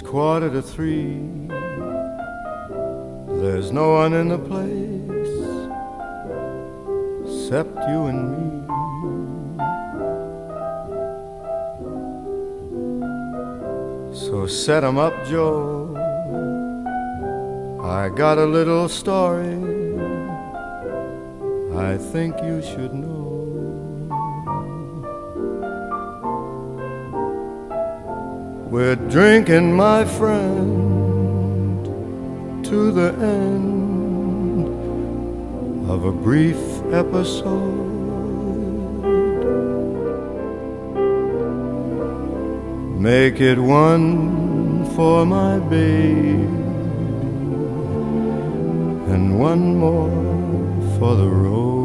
2:45. There's no one in the place except you and me. So set 'em up, Joe. I got a little story I think you should know. We're drinking, my friend, to the end of a brief episode. Make it one for my baby and one more for the road.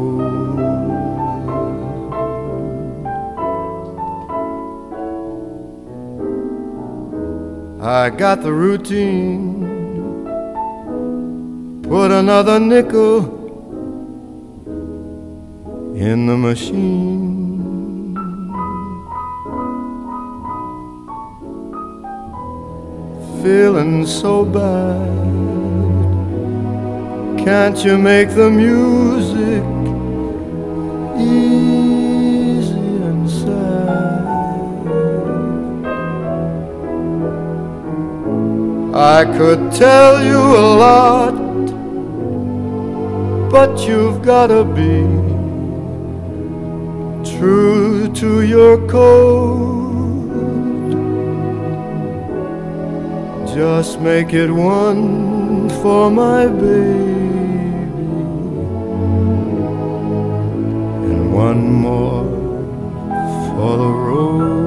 I got the routine, put another nickel in the machine. Feeling so bad, can't you make the music easy and sad? I could tell you a lot, but you've gotta be true to your code. Just make it one for my baby and one more for the road.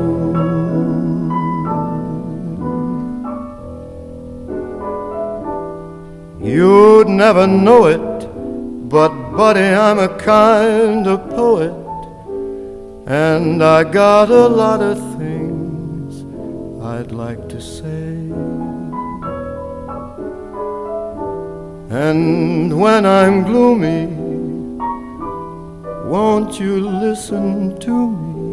You'd never know it, but buddy, I'm a kind of poet, and I got a lot of things I'd like to say. And when I'm gloomy, won't you listen to me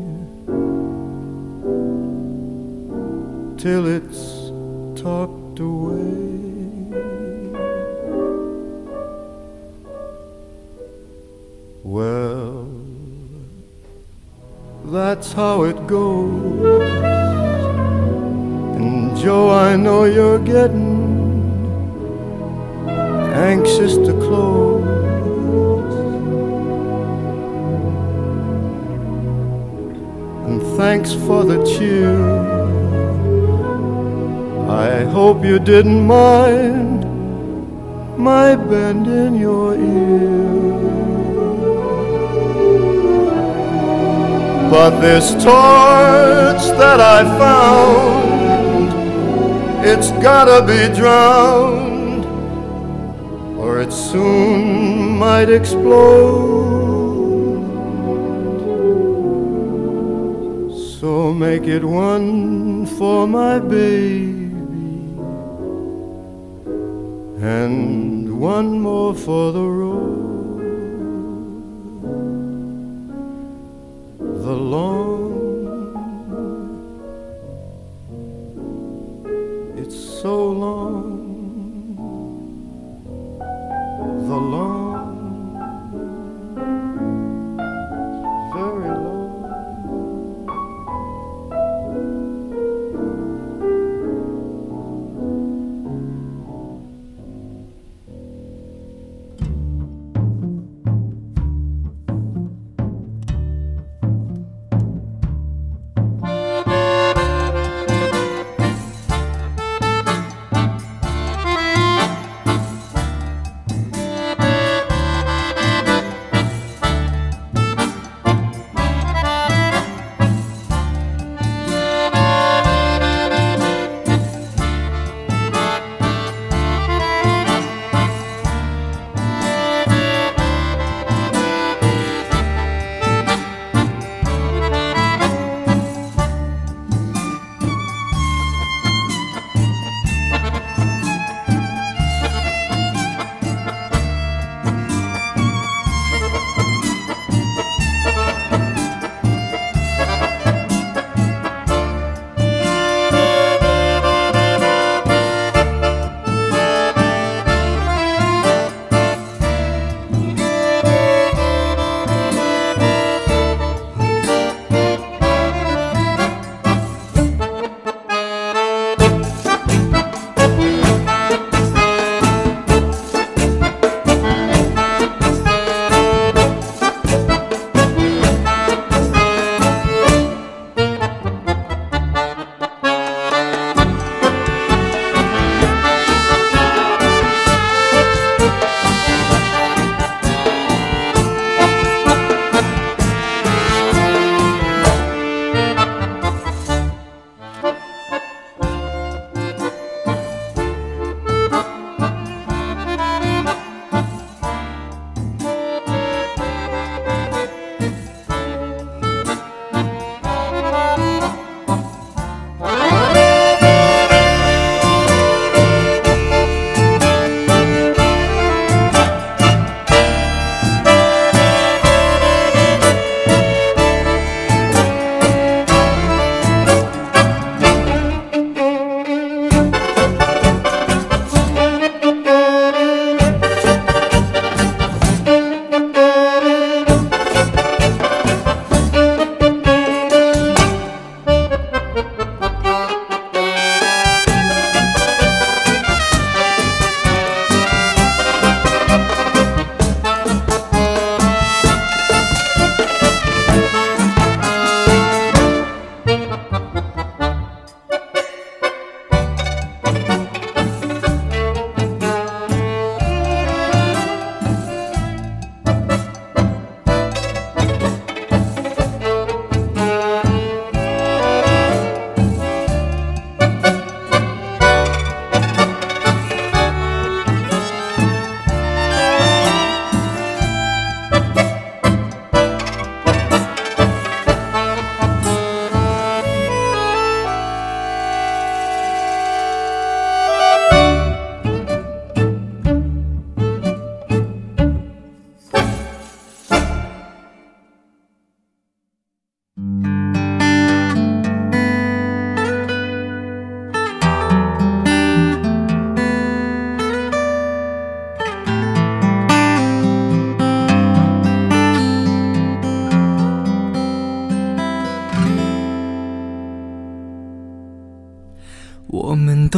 till it's talked away? Well, that's how it goes. And Joe, I know you're getting anxious to close. And thanks for the cheer. I hope you didn't mind my bending your ear. But this torch that I found, it's gotta be drowned, or it soon might explode. So make it one for my baby and one more for the road. The long, it's so long, the long, very long.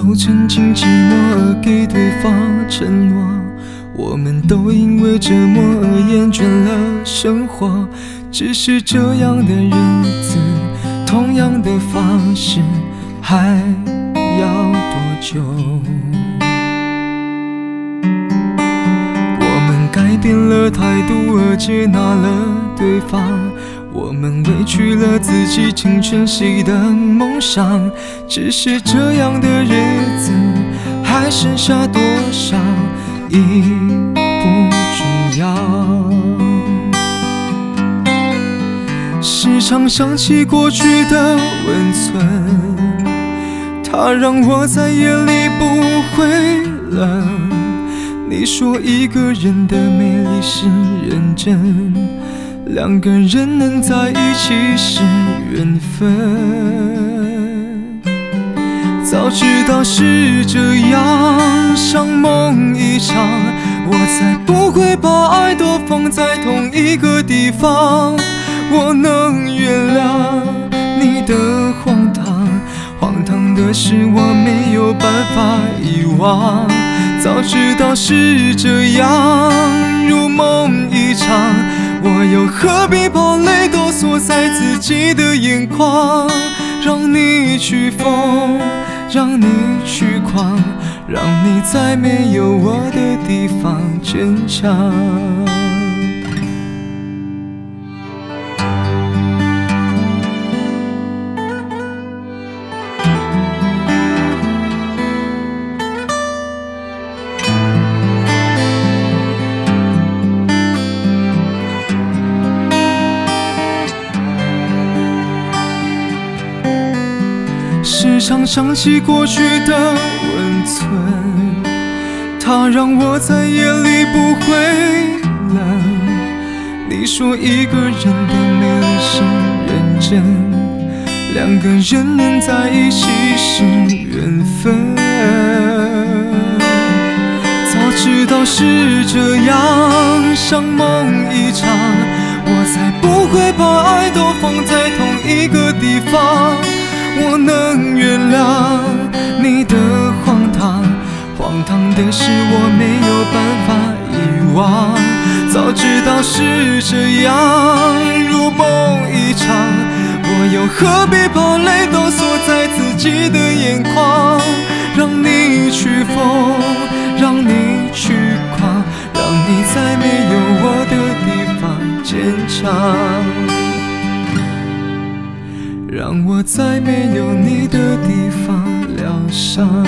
都曾经寂寞而给对方承诺，我们都因为折磨而厌倦了生活。只是这样的日子，同样的方式，还要多久？我们改变了态度而接纳了对方，我们委屈了自己，成全谁的梦想？只是这样的日子，还剩下多少已不重要。时常想起过去的温存，它让我在夜里不会冷。你说一个人的美丽是认真，两个人能在一起是缘分。早知道是这样，像梦一场，我才不会把爱都放在同一个地方。我能原谅你的荒唐，荒唐的是我没有办法遗忘。早知道是这样，如梦一场，我又何必把泪都锁在自己的眼眶？让你去疯，让你去狂，让你在没有我的地方坚强。时常想起过去的温存，它让我在夜里不会冷。你说一个人的美丽是认真，两个人能在一起是缘分。早知道是这样，像梦一场，我才不会把爱都放在同一个地方。我能原谅你的荒唐，荒唐的是我没有办法遗忘。早知道是这样，如梦一场，我又何必把泪都锁在自己的眼眶？让你去疯，让你去狂，让你在没有我的地方坚强。让我在没有你的地方疗伤。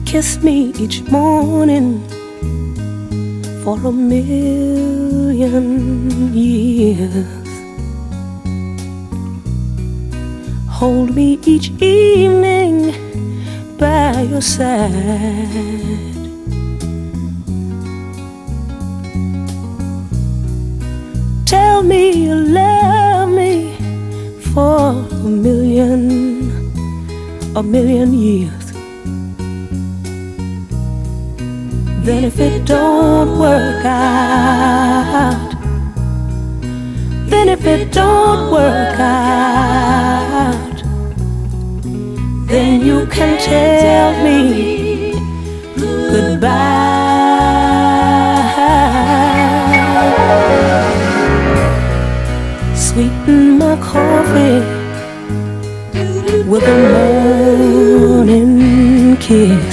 kiss me each morning for a million years. Hold me each evening by your side. Tell me you love me for a million years. Then if it don't work out, then if it don't work out, then you can tell me goodbye. Sweeten my coffee with a morning kiss.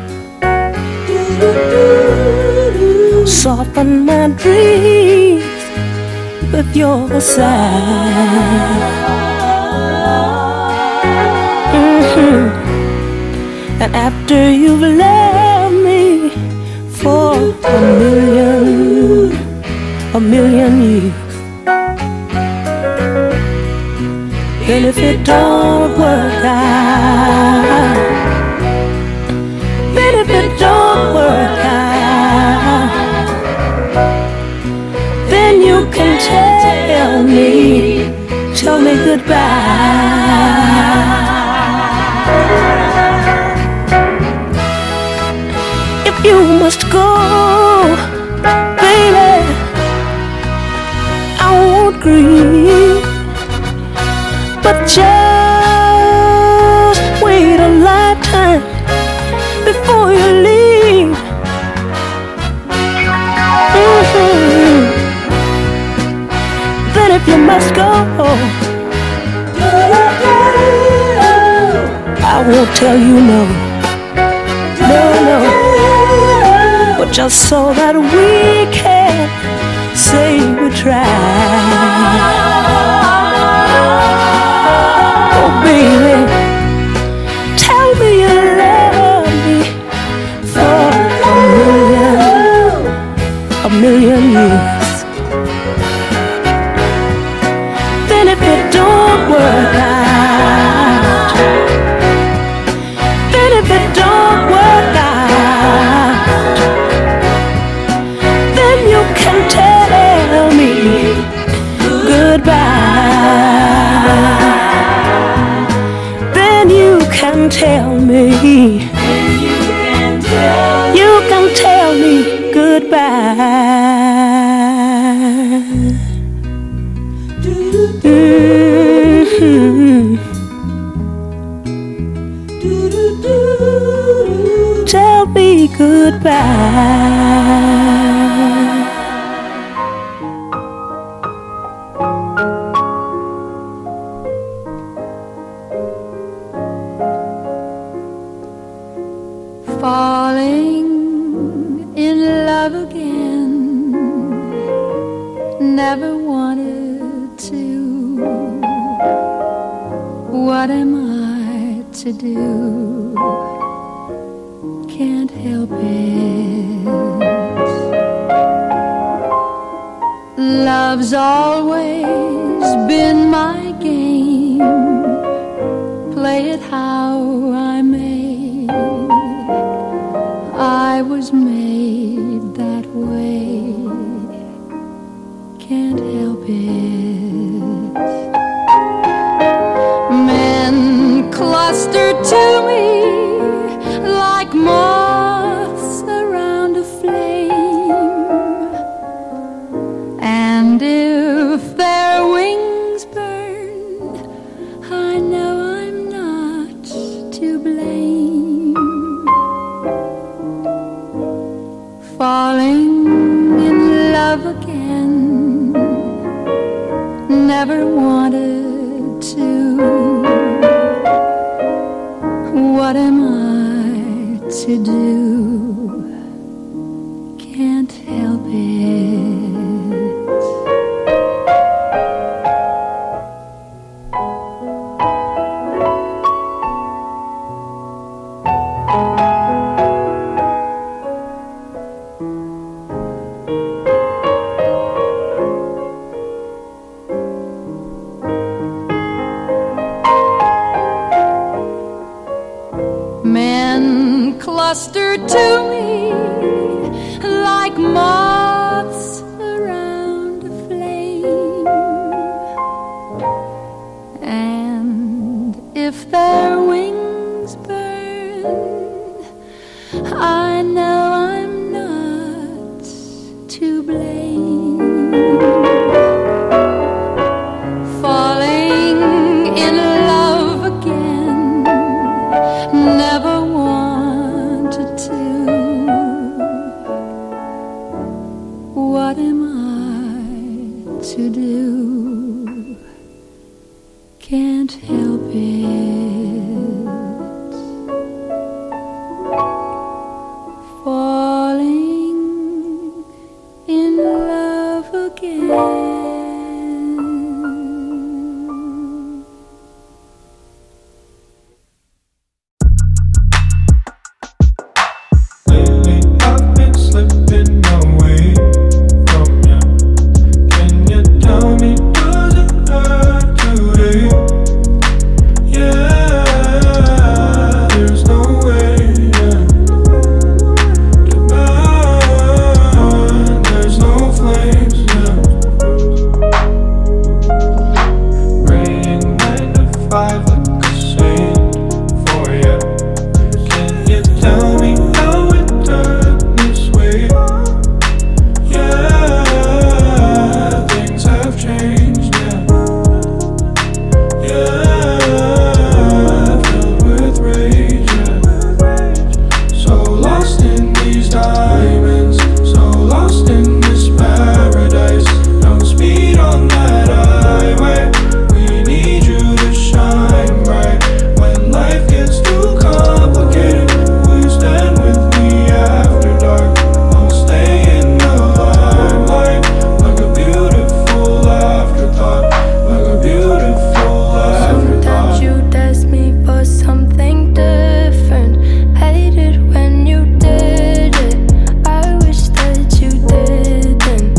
Soften my dreams with your sigh. And after you've loved me for a million years, and if it don't work out, then if it don't work out, then you can tell me goodbye. If you must go, baby, I won't grieve, but just wait a lifetime before you leave. Then if you must go, I won't tell you no, no, no, but just so that we can say we tried. Oh baby, tell me you love me for a million years. Then if it don't work out, then if it don't work out, then you can tell me goodbye. Then you can tell me, you can tell me goodbye. Tell me goodbye. Falling in love again, never wanted to. What am I to do? Can't help it. Love's always been my game. Play it how I may. I was made that way. Can't help it. Men cluster to me like moths around a flame, and if their wings burn, I know I'm not to blame. Falling in love again, never wanted to. What am I to do? Can't help it. cluster to me like moths around a flame. And if their wings burn, I know I'm not to blame. Falling in love again, never wanted to. What am I to do? Can't help it. Falling in love again. Lately I've been slipping away from you. Can you tell me, does it hurt today? Yeah, there's no way to burn. There's no flames. Praying 9 to 5 like a saint for you. Can you tell me how it turned this way? Yeah, things have changed. Yeah, filled with rage. So lost in these diamonds, so lost in this paradise. Don't speed on that highway. We need you to shine bright. When life gets too complicated, will you stand with me after dark? I'll stay in the limelight like a beautiful afterthought, like a beautiful afterthought. Sometimes you test me for something different. Hate it when you did it. I wish that you didn't.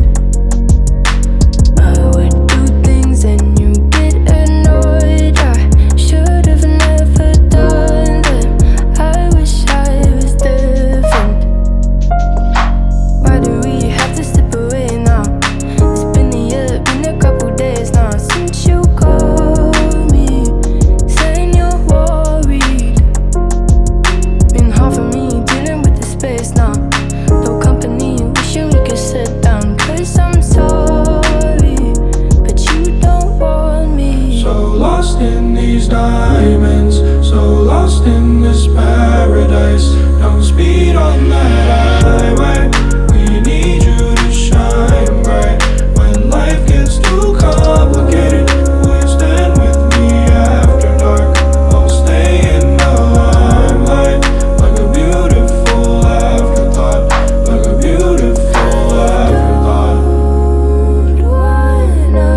I would do things and you get annoyed. I should have never done them. I wish I was different. Why do we have to slip away now? It's been a year, been a couple days now since you called me, saying you're worried. Been hard for me dealing with the space now. No company, wishing we could sit down. 'Cause I'm sorry, but you don't want me. So lost in these diamonds, so lost in this paradise. Don't speed on that highway. We need you to shine bright. When life gets too complicated, will you stand with me after dark? I'll stay in the limelight like a beautiful afterthought, like a beautiful afterthought. Don't wanna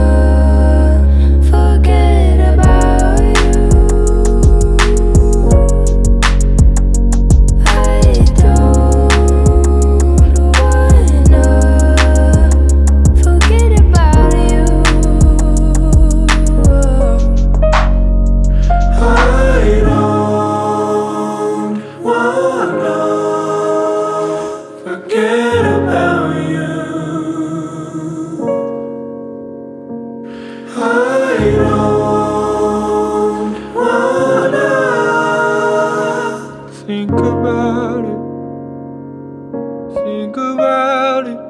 forget about you. I don't wanna forget about you. I don't wanna forget about you. I don't wanna think about it. Think about it.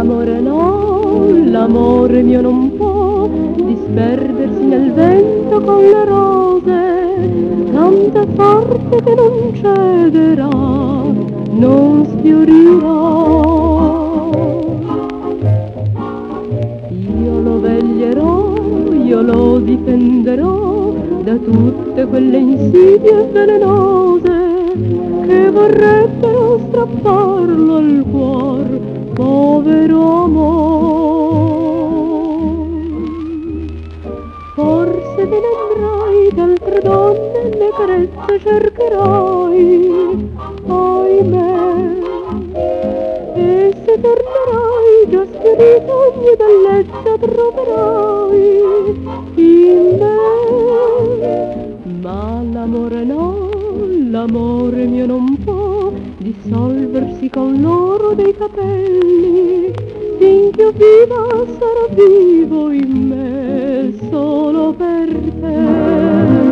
l'amore no, l'amore mio non può disperdersi nel vento con le rose, tanto è forte che non cederà, non sfiorirà. Io lo veglierò, io lo difenderò da tutte quelle insidie velenose che vorrebbero strapparlo al cuor, povero amor. Forse te ne andrai, d'altre donne le carezze cercherai, ahimè, e se tornerai già schiarito ogni bellezza troverai in me. Ma l'amore no, l'amore mio non può dissolversi con l'oro dei capelli, finché io viva sarà vivo in me solo per te.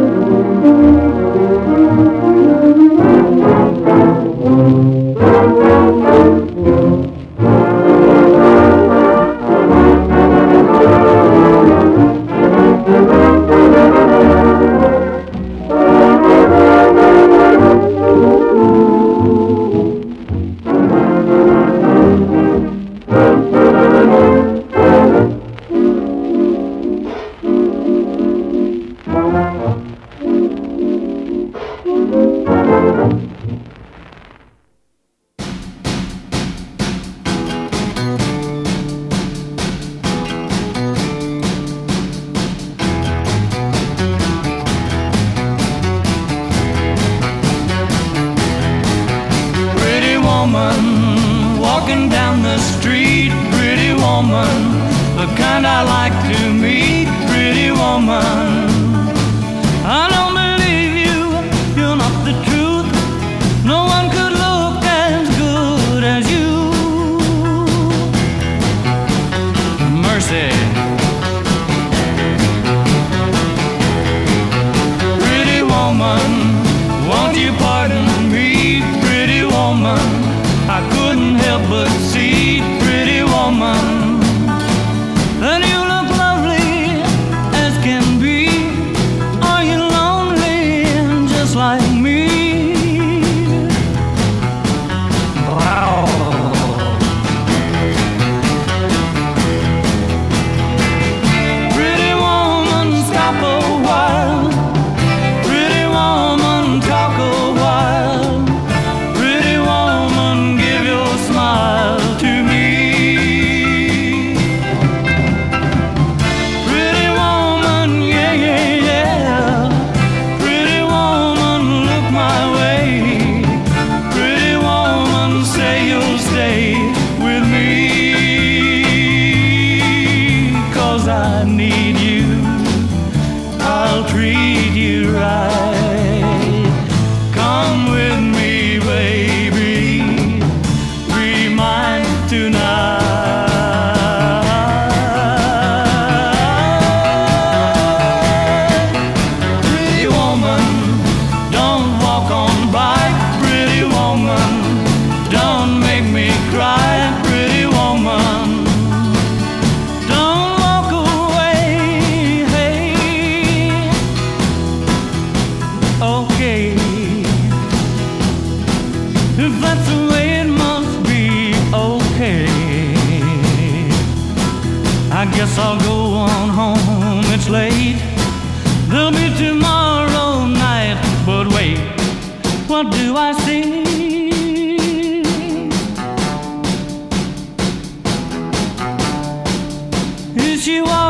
Walking down the street, pretty woman, the kind I like to meet, pretty woman. I don't believe you, you're not the truth. No one could look as good as you. Mercy. Pretty woman, won't you pardon me, pretty woman? I couldn't help but see, pretty woman, that you look lovely as can be. Are you lonely just like me? Wow. Pretty woman, stop a while. Pretty woman, talk a while. Pretty woman, give your smile to me. Pretty woman, yeah, yeah, yeah. Pretty woman, look my way. Pretty woman, say you'll stay with me. 'Cause I need you, I'll treat you right. Come with me, baby, be mine tonight. Pretty woman, don't walk on by. Pretty woman, don't make me cry. Pretty woman, don't walk away. Hey, okay, if that's the way it must be, okay. I guess I'll go on home, it's late. There'll be tomorrow night, but wait, what do I see? Is she